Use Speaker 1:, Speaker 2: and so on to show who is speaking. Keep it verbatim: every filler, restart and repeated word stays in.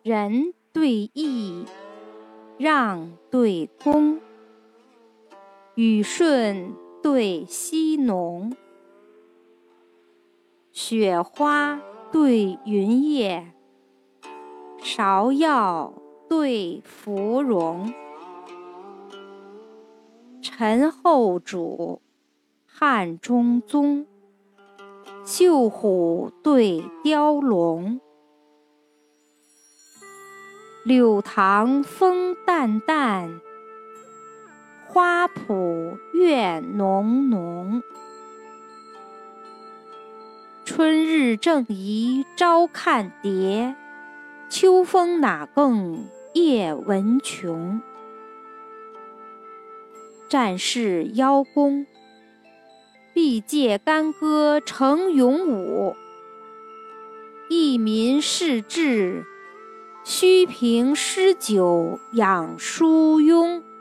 Speaker 1: 仁对义，让对恭，雨顺对溪浓，雪花对云叶，芍药对芙蓉。陈后主，汉中宗，绣虎对雕龙。柳塘风淡淡，花圃月浓浓。春日正宜朝看蝶，秋风哪更夜闻琼。战士邀功，必借干戈成勇武；益民事志，须凭诗酒养疏慵。